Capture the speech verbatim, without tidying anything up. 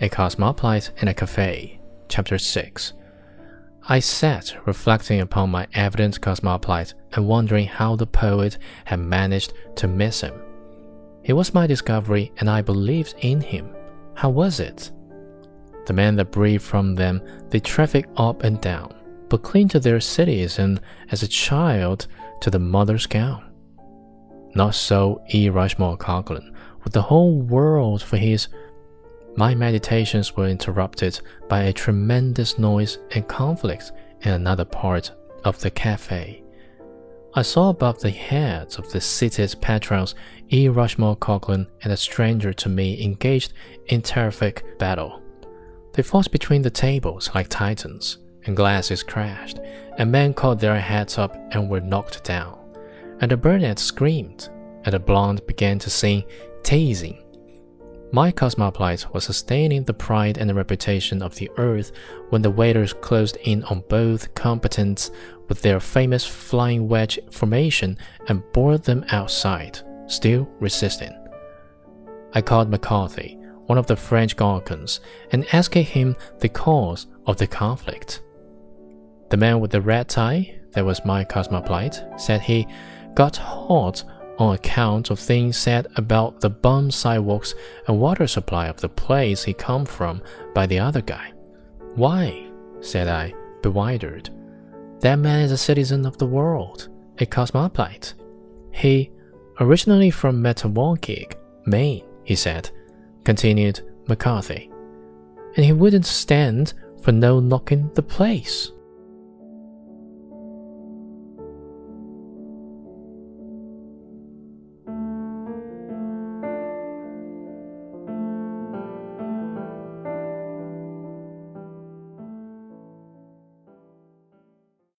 A Cosmopolite in a Cafe, Chapter six. I sat reflecting upon my evident cosmopolite and wondering how the poet had managed to miss him. He was my discovery and I believed in him. How was it? The men that breathed from them, they traffic up and down, but cling to their cities and as a child to the mother's gown. Not so E. Rushmore Coglan, with the whole world for his. My meditations were interrupted by a tremendous noise and conflict in another part of the cafe. I saw above the heads of the seated patrons E. Rushmore Coglan and a stranger to me engaged in terrific battle. They fought between the tables like titans, and glasses crashed, and men caught their heads up and were knocked down, and the brunette screamed, and the blonde began to sing teasing. My cosmopolite was sustaining the pride and the reputation of the earth when the waiters closed in on both combatants with their famous flying wedge formation and bore them outside, still resisting. I called McCarthy, one of the French Gorgons, and asked him the cause of the conflict. The man with the red tie, that was my cosmopolite, said he got hot on account of things said about the bum sidewalks and water supply of the place he come from by the other guy. Why? Said I, bewildered. That man is a citizen of the world, a cosmopolite. He, originally from Metawaukee, Maine, he said, continued McCarthy, and he wouldn't stand for no knocking the place.